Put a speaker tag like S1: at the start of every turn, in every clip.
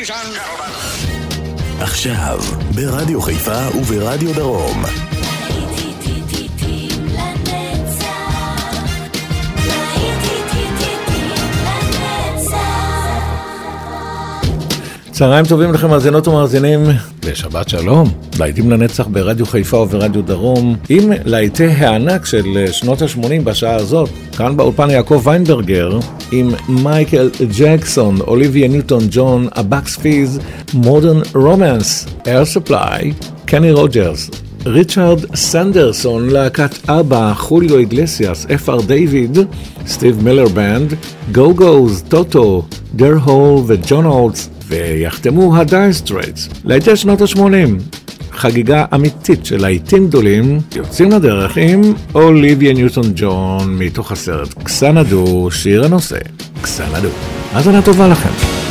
S1: עכשיו, ברדיו חיפה וברדיו דרום.
S2: צהריים טובים לכם מאזינות ומאזינים, ושבת שלום. להיטים לנצח ברדיו חיפה וברדיו דרום, עם להיטי הענק של שנות ה-80 בשעה הזאת. כאן באולפן יעקב ויינברגר, עם מייקל ג'קסון, אוליביה ניוטון ג'ון, הבקס פיז, מודרן רומנס, אייר ספליי, קני רוג'רס, ריצ'רד סנדרסון, להקת אבא, חוליו איגלסיאס, אפר דיוויד, סטיב מילר בנד, גו גוז, טוטו, דר הול וג'ון אולטס, ויחתמו הדייר סטרייטס. להיטי שנות ה-80, חגיגה אמיתית של להיטים גדולים, יוצאים לדרך עם אוליביה ניוטון ג'ון מתוך הסרט קסנדו, שיר הנושא קסנדו. האזנה טובה לכם.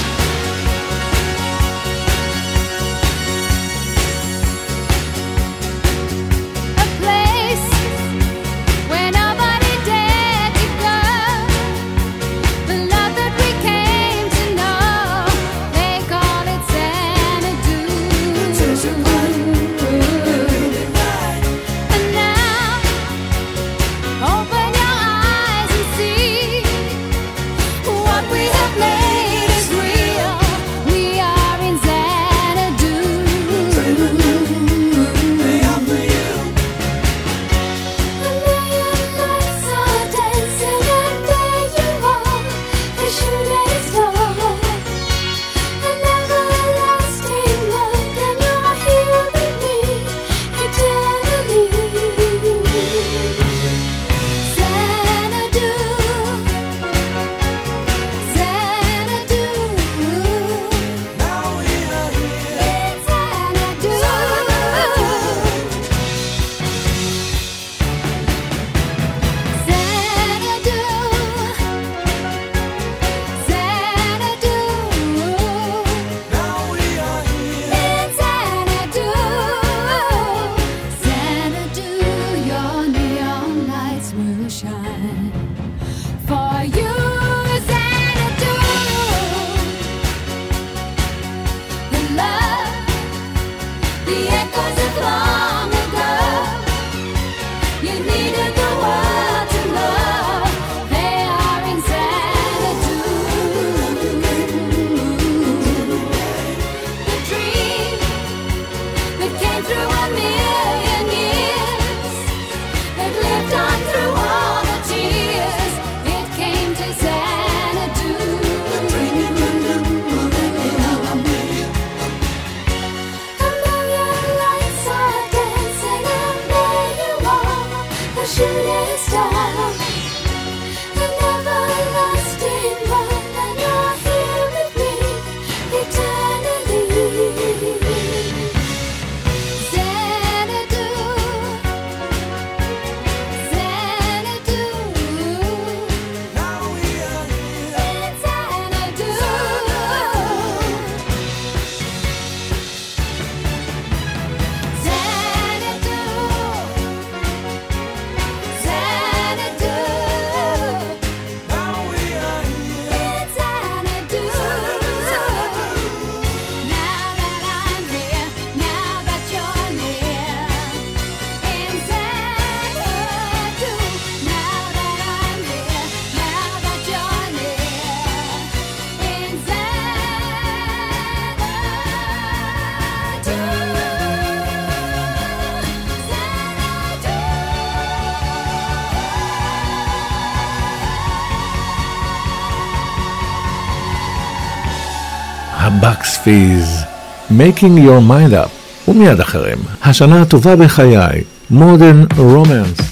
S2: הבקס פיז, Making Your Mind Up, ומיד אחרים, השנה הטובה בחיי, Modern Romance.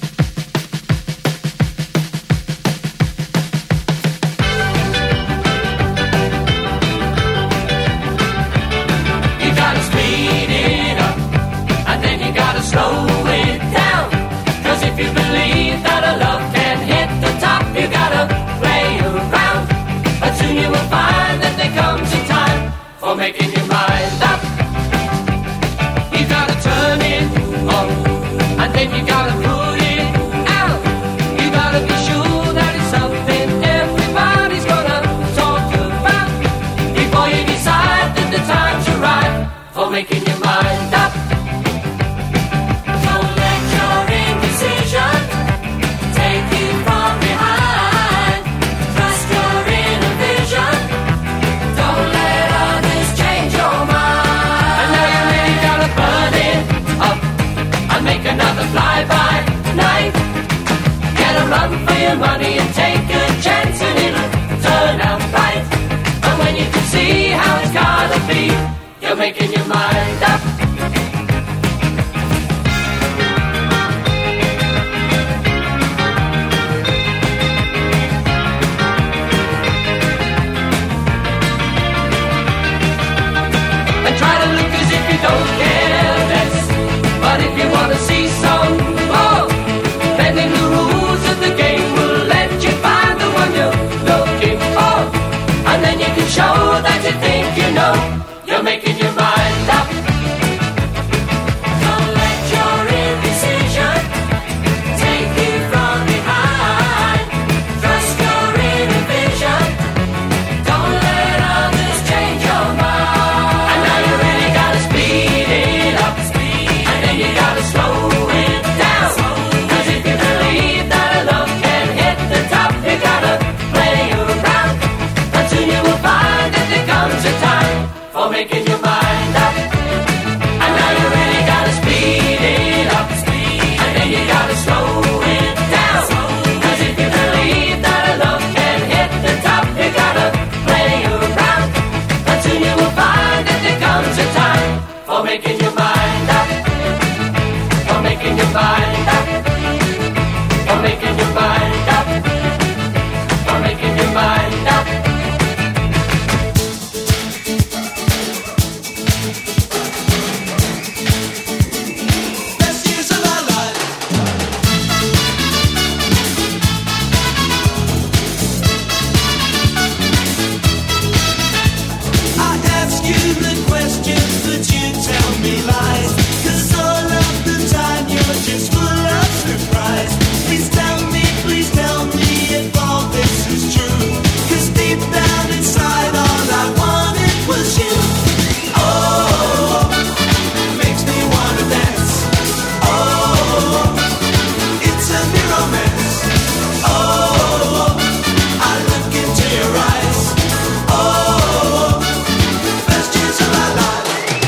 S3: Making your mind up, you gotta turn it on, and then you gotta prove making your mind up. And try to look as if you don't care less. But if you want to see some more, bending the rules of the game will let you find the one you're looking for. And then you can show that you think you know. You're making your mind up. Don't let your indecision take you from behind. Trust your inner vision. Don't let others change your mind. And now you really gotta speed it up. And then you gotta slow it down. Cause if you believe that love can hit the top, you gotta play around. And soon you will find that there comes a time for making your mind up. And now you really gotta speed it up. And then you gotta slow it down. Cause if you believe that love can hit the top, you gotta play around. And soon you will find that there comes a time for making your mind up. For making your mind up. For making your mind up. For making your mind up.
S4: Best years of our life. I ask you the questions, but you tell me lies. 'Cause all of the time you're just full of surprise. Please tell me if all this is true. 'Cause deep down inside all I wanted was you. Oh, makes me wanna dance. Oh, it's a new romance. Oh, I look into your eyes. Oh, best years of our life.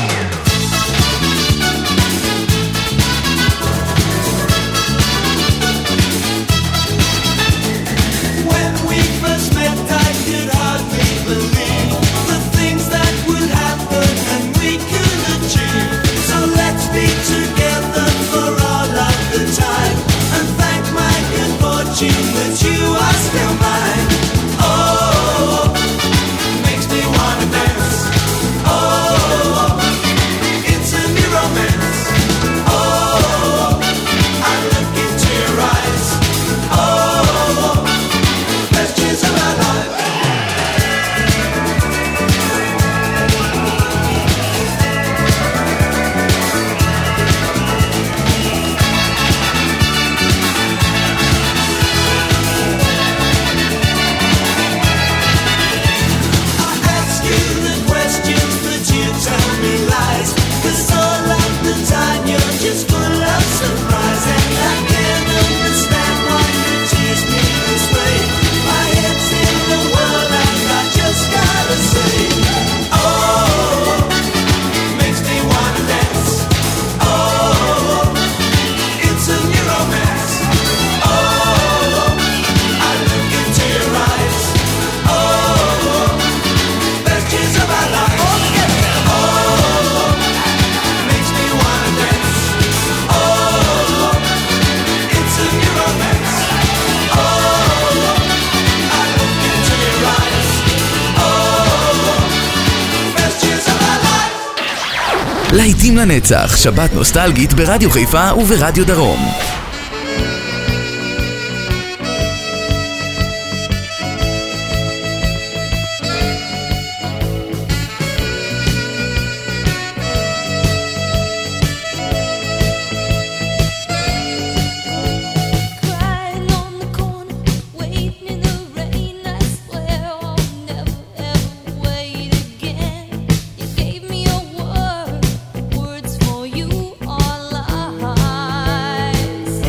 S4: When we first met, I could hardly believe the things that would happen and we could achieve. So let's be together for all of the time and thank my good fortune that you are still mine. Oh, makes me wanna dance. Oh, it's a new romance. Oh, I look into your eyes. Oh, best years of our life. I ask you the questions, but you tell me lies. 'Cause all of the time you're just full of surprise. And I can't understand why you tease me this way. My head's in the world and I just gotta say, oh, makes me wanna dance. Oh, it's a new romance. Oh, I look into your eyes. Oh, best years of our life. Oh, makes me wanna dance. Oh, it's a new romance. Oh, I look into your eyes. Oh, best years of our life.
S5: להיטים לנצח, שבת נוסטלגית ברדיו חיפה וברדיו דרום.
S6: Crying on the corner, waiting in the rain. I swear I'll never ever wait again. You gave me your word, words for you are lies.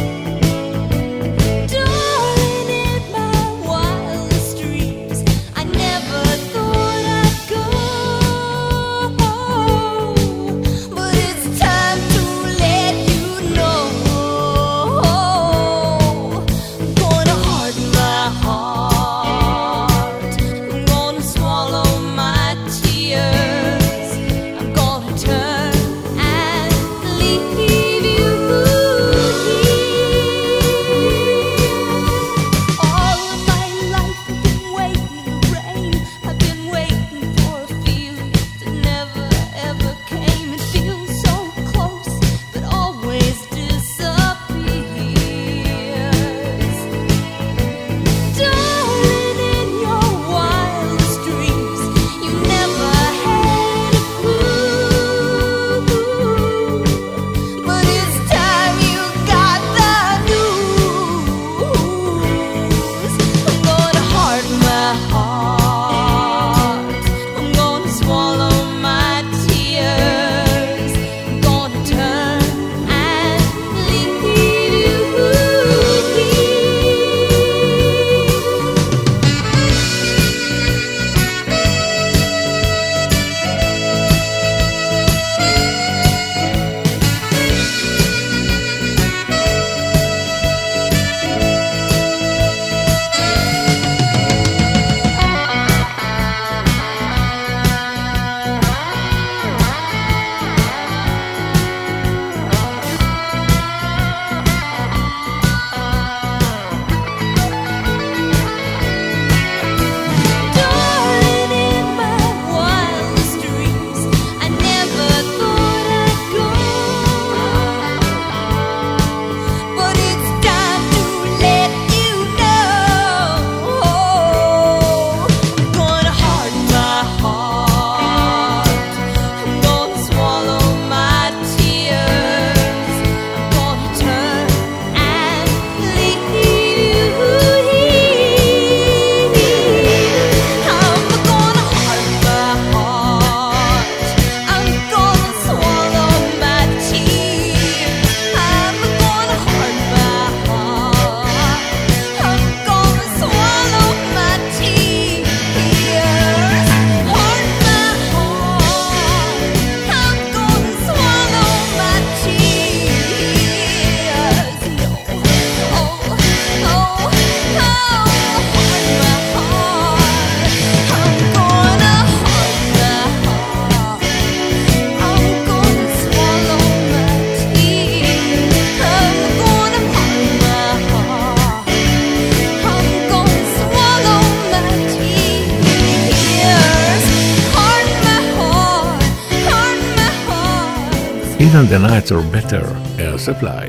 S2: Even the nights are better, Air Supply.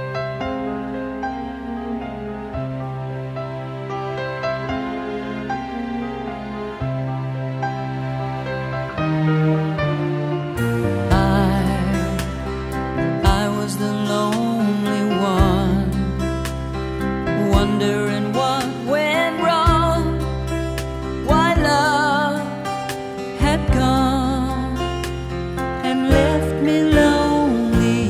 S7: I was the lonely one, wondering what went wrong, why love had gone and left me lonely.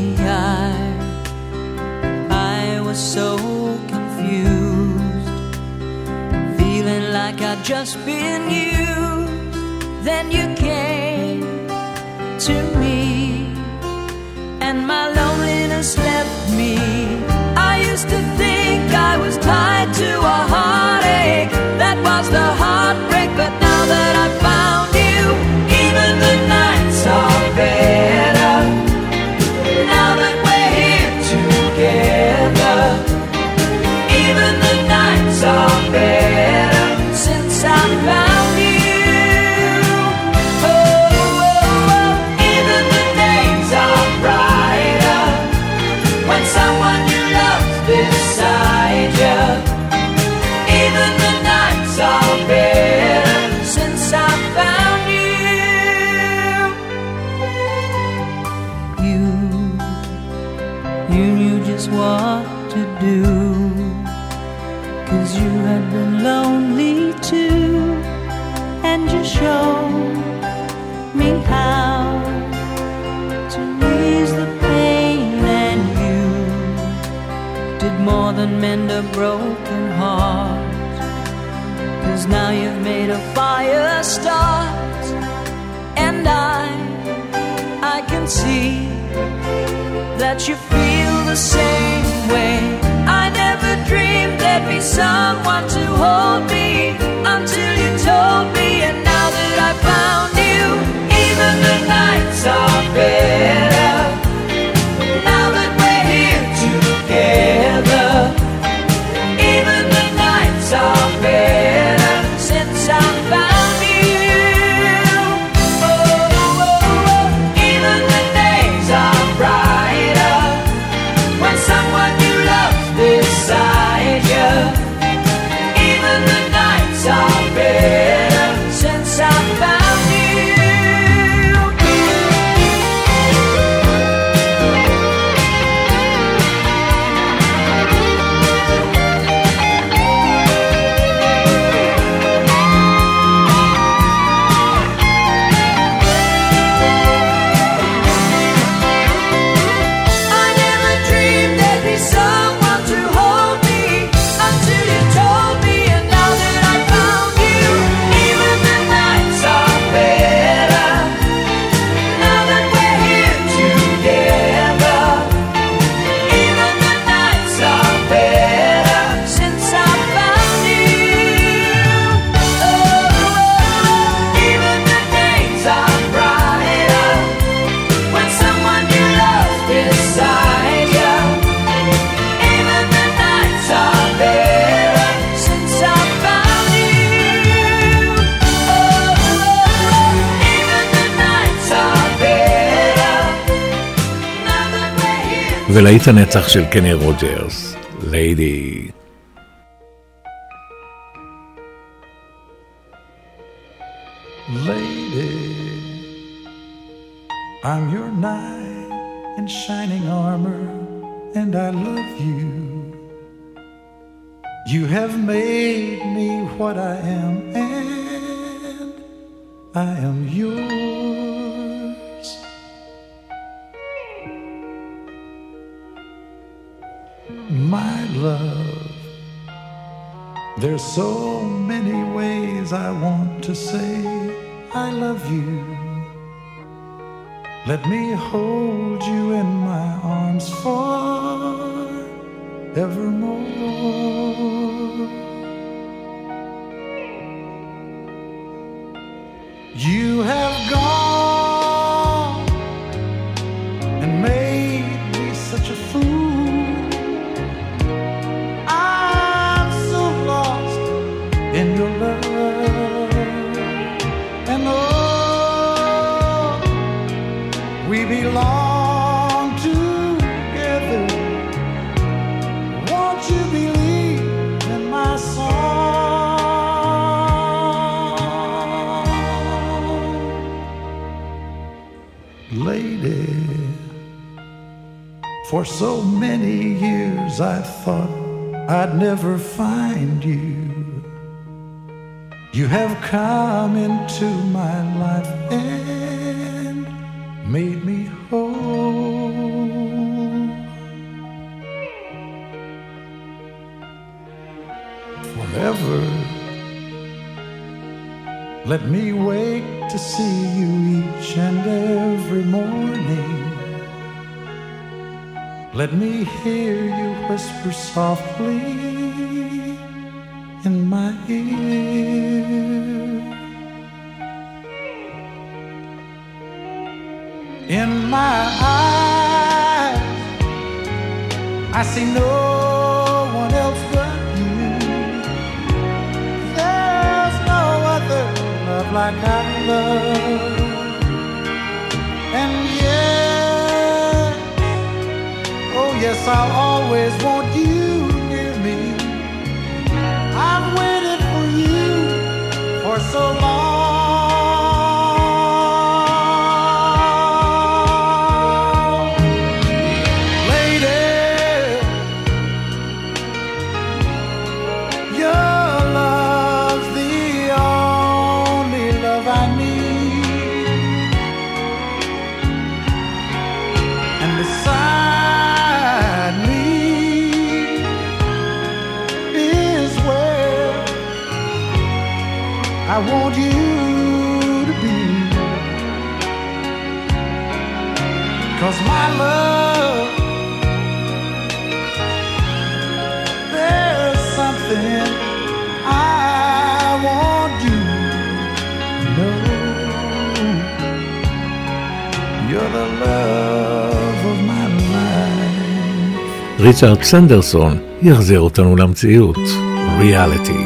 S7: I was so confused, feeling like I'd just been used. Then you came to me, and my loneliness left me. I used to think I was tied to a heartache, that was the heartbreak. But now that I found you, even the nights are better. Now that we're here together, even the nights are better since I found you. Even the days are brighter when someone you love's beside you. Even the nights are better since I found you. You knew just what to do, 'cause you had been lonely too, and you showed me how to ease the pain. And you did more than mend a broken heart, 'cause now you've made a fire start. And I can see that you feel the same way. I never dreamed there'd be someone to hold me until you told me. And now that I found you, even the nights are better. Now that we're here together, even the nights are better since I found you. Even the days are brighter when someone you love's beside you. Even the nights are better since I found you. I never dreamed there'd be someone to hold me until you told me. And now that I found you, even the nights are better. Now that we're here together, even the nights are better since I found you. Even the days are brighter when someone you love's beside you. Even the nights are better since I found you. Even the nights are better now that we're here.
S2: ולהיט הנצח של קני רוג'רס, ליידי.
S8: Lady, I'm your knight in shining armor, and I love you. You have made me what I am, and I am yours. My love, there's so many ways I want to say I love you. Let me hold you in my arms forevermore. You have gone and made me such a fool. I'm so lost in your love. And oh, we belong For so many years I thought I'd never find you. You have come into my life and made me whole. Forever, let me wake to see you each and every morning. Let me hear you whisper softly in my ear. In my eyes, I see no one else but you. There's no other love like I love. And yes, oh yes, I'll always want you near me. I've waited for you for so long. Lady, your love's the only love I need. And beside me is where I want you to be. 'Cause my love, there's something I want you to know. You're the love of my life.
S2: ריצ'רד סנדרסון יחזיר אותנו למציאות. ריאליטי.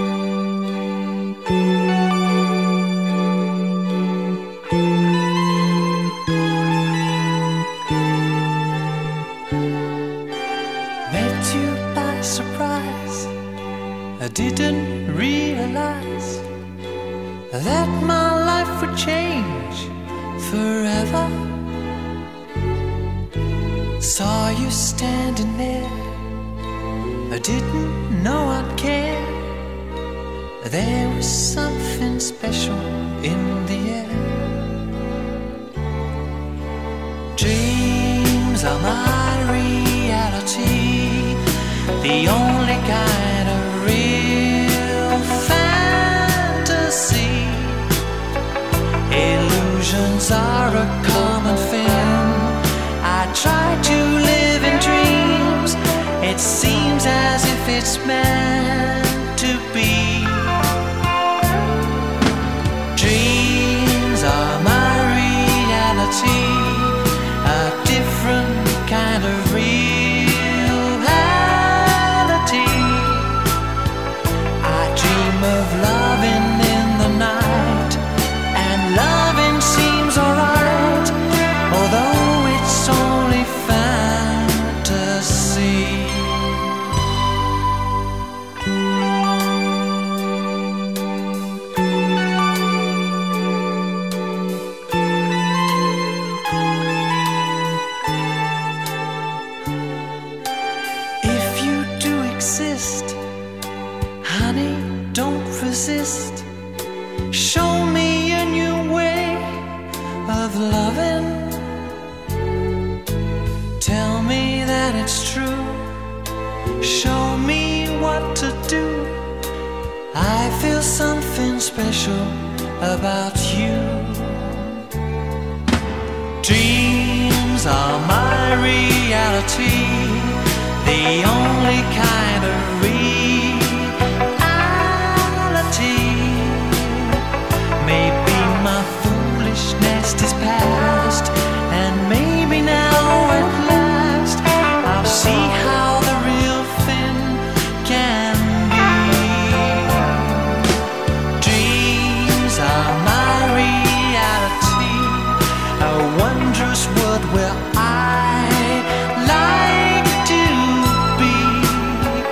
S9: Met you by surprise. I didn't realize that my life would change forever. Saw you standing there. I didn't know I'd care. There was something special in the air. Dreams are my reality, the only kind of real fantasy. Illusions are a common thing. I try to live in dreams. It seems as if it's meant to be. Dreams are my reality, a different kind of reality. I dream of loving in the night, and loving seems alright, although it's only fantasy. If you do exist, honey, don't resist. Show me a new way of loving. Tell me that it's true. Show me what to do. I feel something special about you. Dreams are my reality, the only kind of reality. Maybe my foolishness is past, and maybe now at last I'll see how the real thing can be. Dreams are my reality, a wondrous world where I like to be.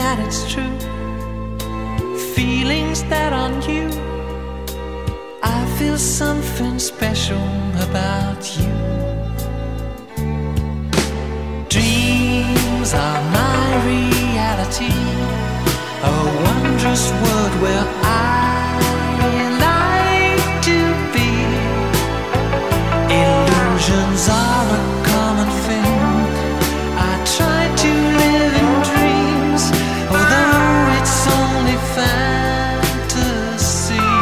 S9: that it's true. Feelings that are new. I feel something special about you. Dreams are my reality, a wondrous world where I like to be. Illusions are a common thing. I try to live in dreams, although it's only fantasy.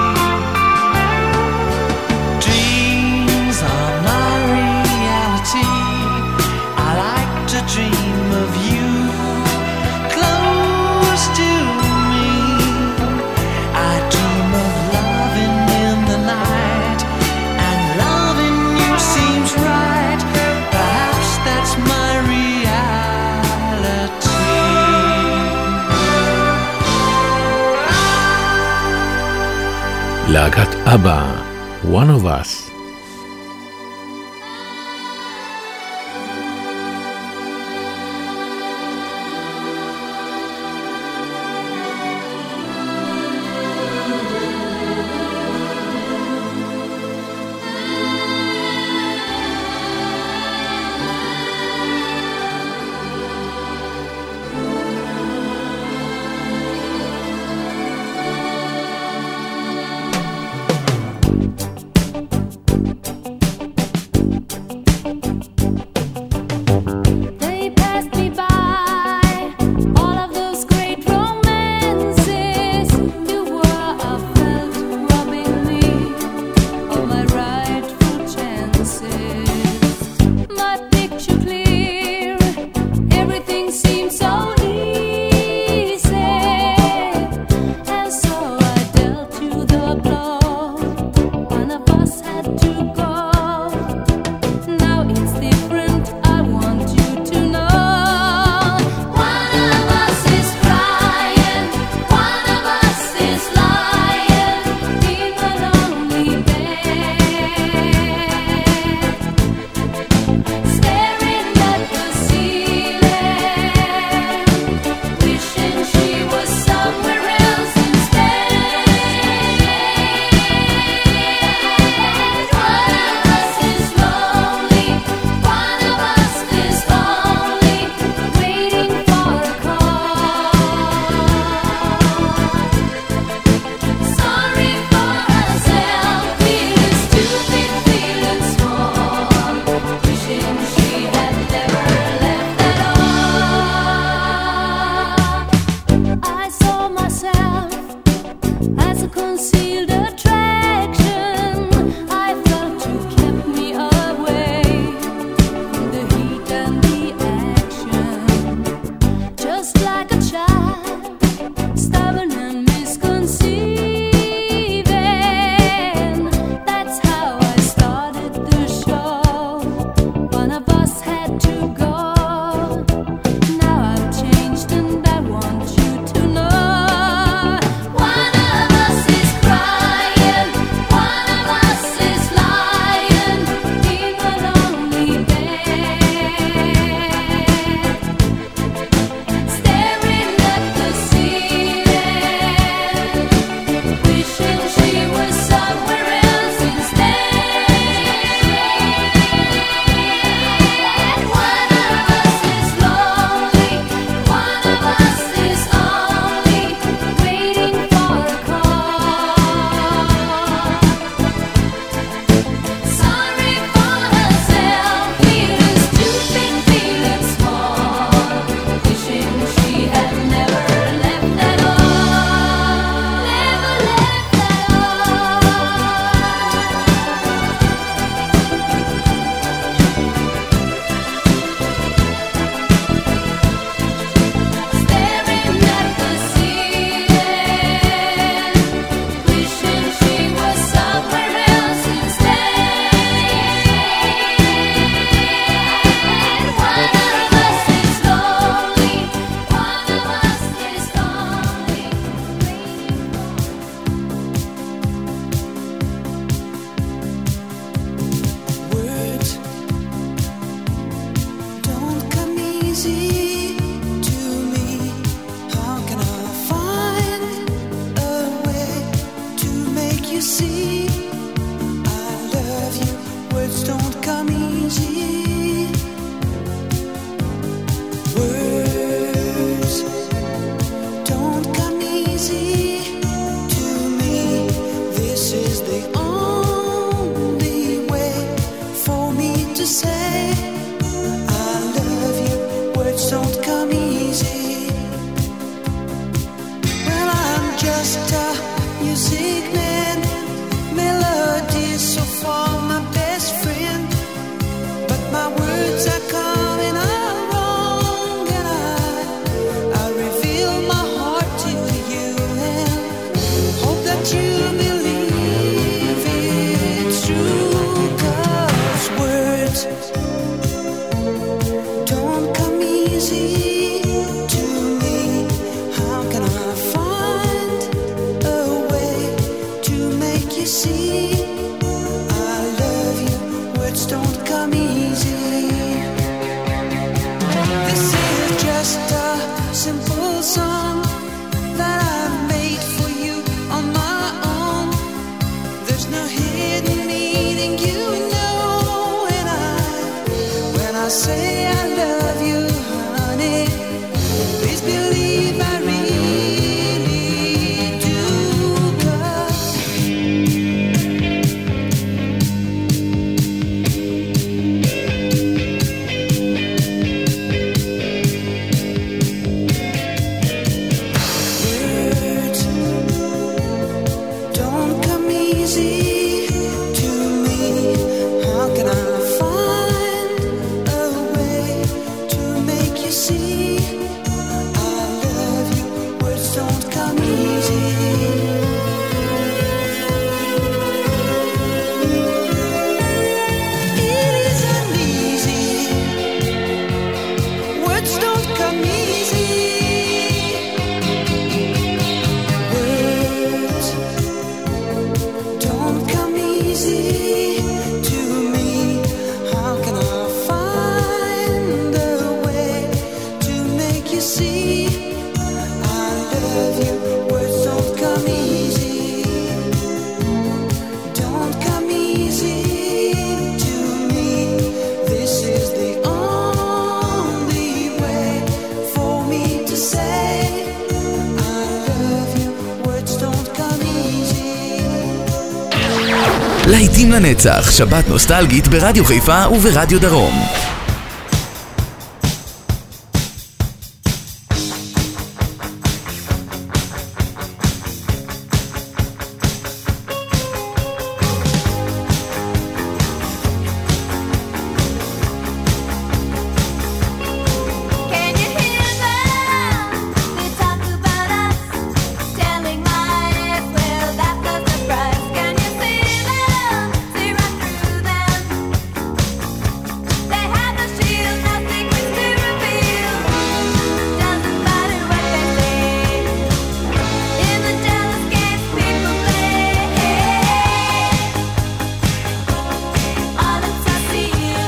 S9: Dreams are my reality. I like to dream of you close to me. I dream of loving in the night, and loving you seems right. Perhaps that's my reality.
S2: להקת אבא, One of Us.
S6: They passed me by, all of those great romances. You were a felt robbing me of my rightful chances. My picture clear, everything seems so easy, and so I dealt you the blow. One of us had to go. Now it's different, I want you to know. One of us is crying, one of us is lying in a lonely bed, staring at the ceiling, wishing she was somewhere else instead. One of us is lonely, one of us is only waiting for a call. Sorry for herself, feeling stupid, feeling small, wishing she had never left at all. I saw myself as a concealed attraction. I felt you kept me away from the heat and the action. Just like a child, stubborn and misconceiving. That's how I started the show. One of us had to go. Now I've changed and I want you to know. One of us is crying.
S9: simple song that I've made for you on my own. There's no hidden meaning, you know, when I say I love you, honey. Please believe I really do, 'cause words don't come easy to me. How can I find a way to make you see I love you? Words don't come easy. It isn't easy. Words don't come easy. Words don't come easy to me. How can I find a way to make you see I love you? Words don't come easy. Don't come easy to me. This is the only way for me to say I love you. Words don't come easy.
S5: להיטים לנצח, שבת נוסטלגית ברדיו חיפה וברדיו דרום.
S6: Can you hear them? They talk about us, telling lies. Well, that's a surprise. Can you see them? See right through them. They have the shield, no secrets to reveal. Doesn't matter what they say. In the jealous games people play, all it's I see you.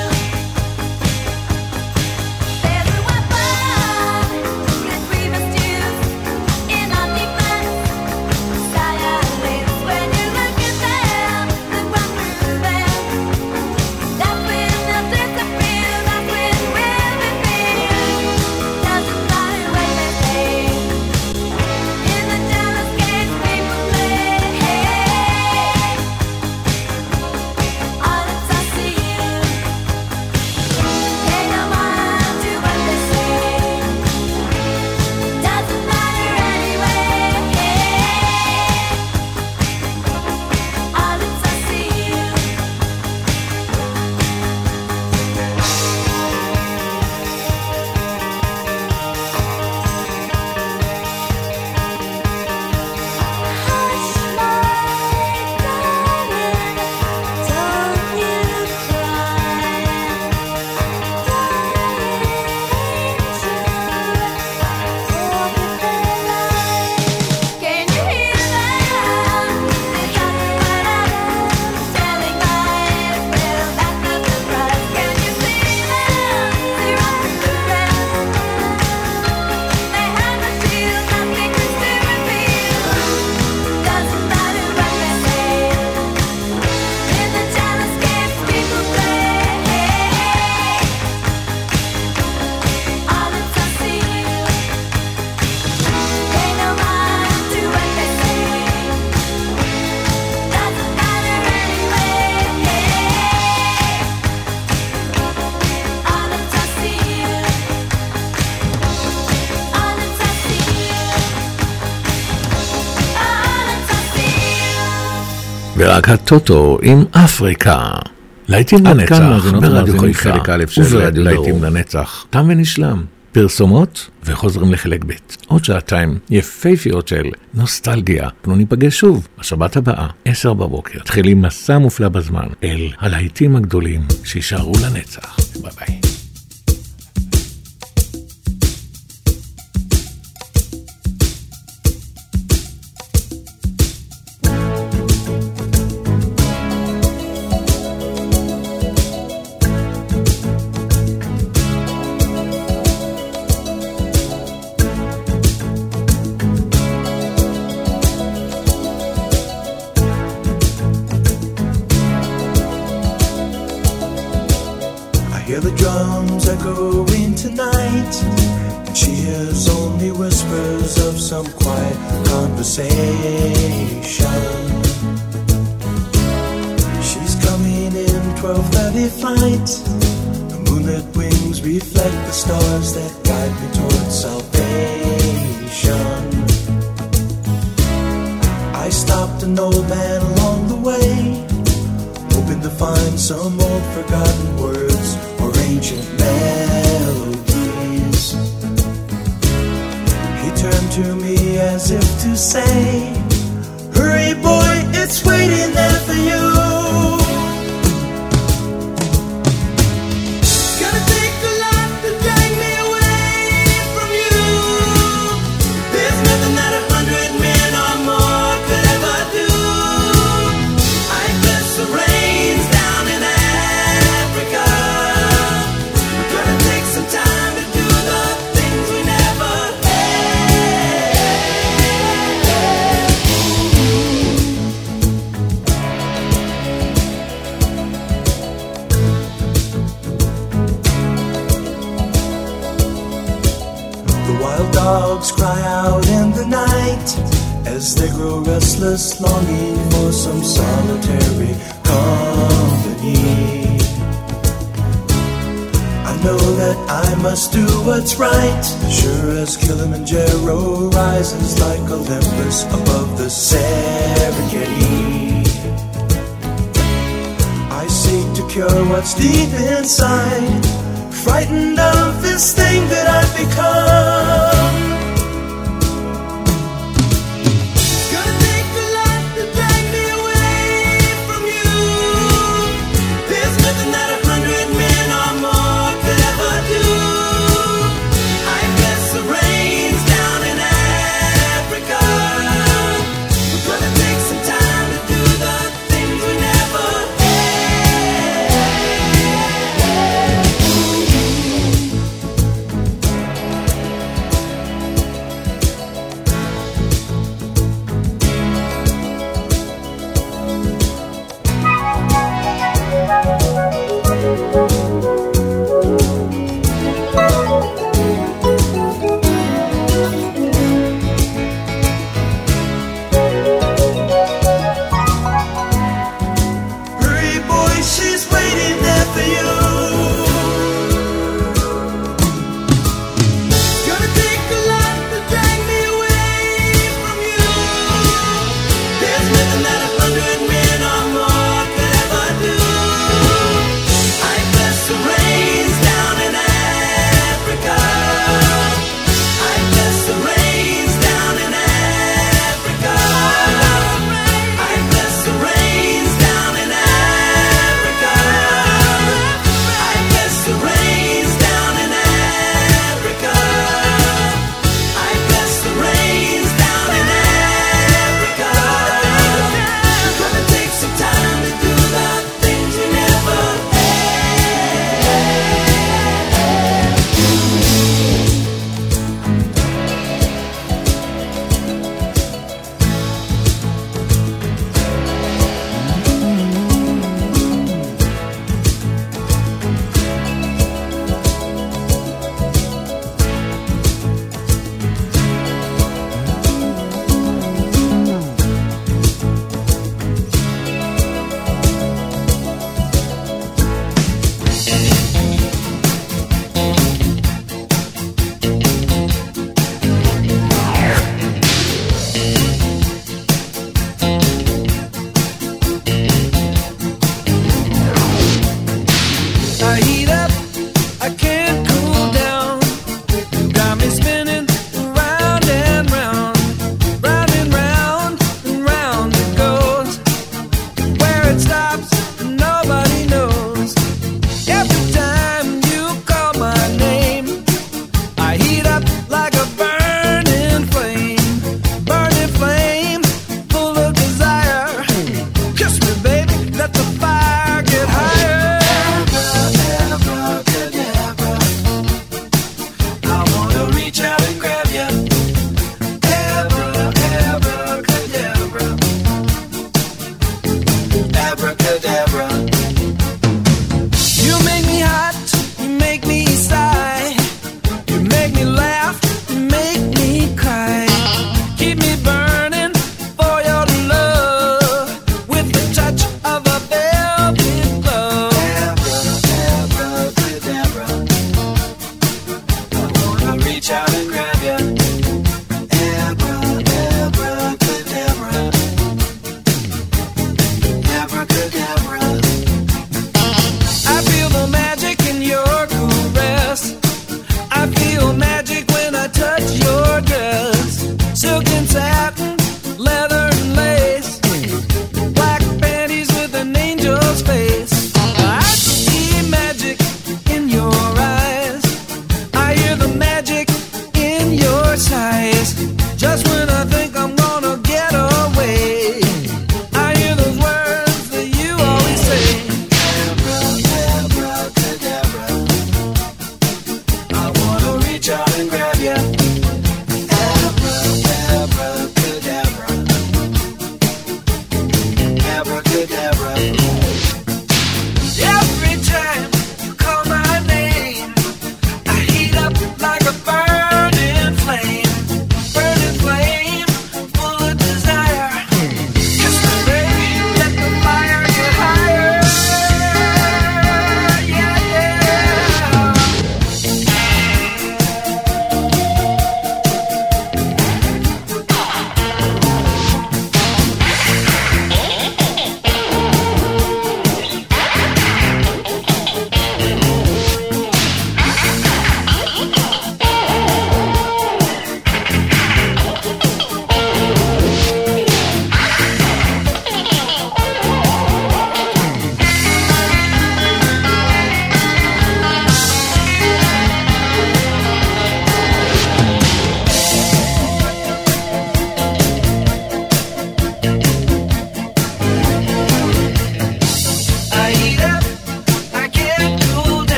S6: There's a weapon that we must use in our defense. Silence when you look at them, then run through them. That's when they'll disappear. That's when we'll be free. Doesn't matter what they say. In the jealous games people play, all it's I see you. Pay no mind to what they say. Doesn't matter anyway. All it's I see you. Hush, my darling, don't you cry. Can you hear them? They talk about us, telling lies. Well, that's no surprise. Can you see them? See right through them. They have the shield, no secrets to reveal. Doesn't matter what they say. In the jealous games people play, all it's I see you. Pay no mind to what they say. Doesn't matter anyway. All it's I see you. All it's I see you. All it's I see you.
S2: ורק הטוטו עם אפריקה. להיטים לנצח ברדיו חיפה חלק א' של להיטים לנצח. תם ונשלם. פרסומות וחוזרים לחלק ב'. עוד שעתיים יפהפיות של נוסטלגיה. אנחנו ניפגש שוב בשבת הבאה, 10 בבוקר. תחילים מסע מופלא בזמן אל הלהיטים הגדולים שישארו לנצח. ביי ביי.
S4: whispers of some quiet conversation. She's coming in 12:30 flight. The moonlit wings reflect the stars that guide me towards salvation. I stopped an old man along the way, hoping to find some old forgotten words or ancient melodies. He turned to me as if to say, hurry boy, it's waiting there for you. Gonna take a lot to drag me away from you. There's nothing that 100 men or more could ever do. I bless the rains down in Africa. We're gonna take some time to do the things we never The wild dogs cry out in the night as they grow restless, longing for some solitary company. I know that I must do what's right, sure as Kilimanjaro rises like Olympus above the Serengeti. I seek to cure what's deep inside, frightened of this thing that I've become. Gonna take a lot to drag me away from you. There's nothing that 100 men or more could ever do. I bless the rains down in Africa. We're gonna take some time to do the things we never had.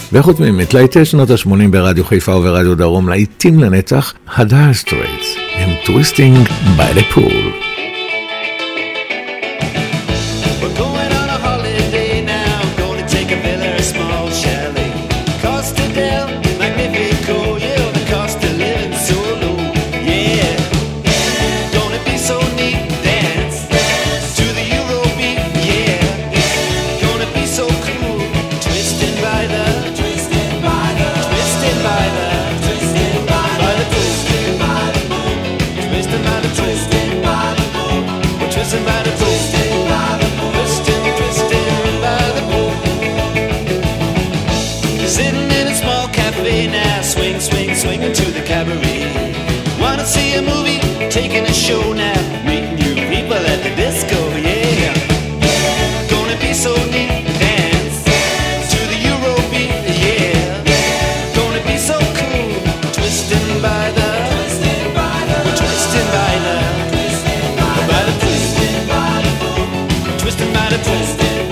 S2: וחוץ ממתלהיטי שנות ה-80 ברדיו חיפה וברדיו דרום, להיטים לנצח, הדייר סטרייטס, הם טוויסטינג by the pool.
S9: We're going on a holiday now, going to take a villa or a small chalet. Costa del Magnifico, yeah, the cost of living so low, yeah. Gonna be so neat, dance to the Eurobeat, yeah. Gonna be so cool, twisting by the pool, twisting by the pool, we're twisting by the pool. Sitting in a small cafe now, swinging to the cabaret. Wanna see a movie, taking a show now, meeting new people at the disco, yeah. Gonna be so neat, dance to the Eurobeat, yeah. Gonna be so cool, twisting by the pool, twisting by the pool, twisting by the pool, twisting by the pool.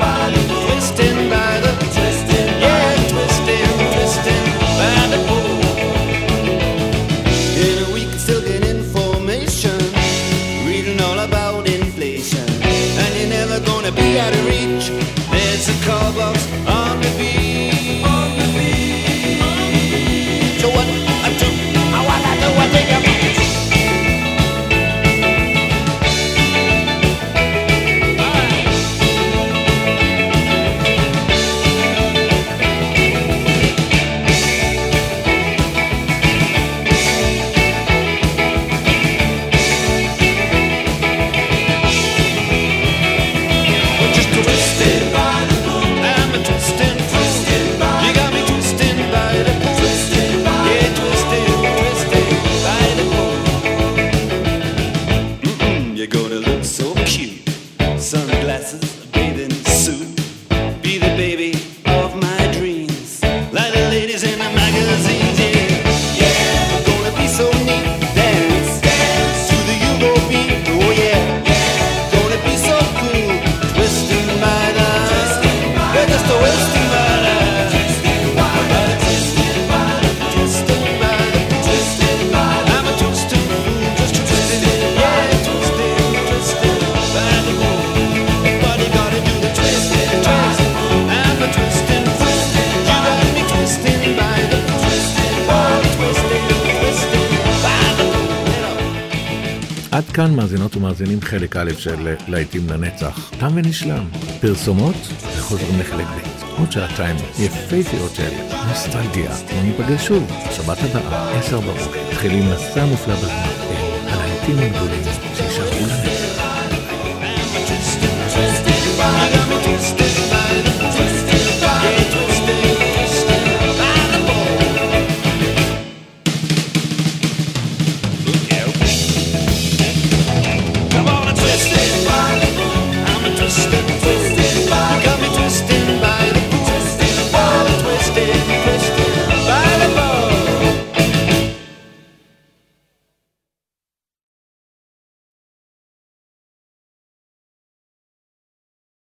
S9: Be out of reach. There's a call box on the beach. So what I do, I think I'm
S2: עד כאן מאזינות ומאזינים חלק א' של להיטים לנצח. תם ונשלם. פרסומות וחוזרים לחלק ב'. עוד שעתיים יפהפיות של נוסטלגיה. וניפגש שוב, שבת הבאה, 10 בבוקר. מתחילים מסע מופלא בזמן. הלהיטים הגדולים שישארו לנצח.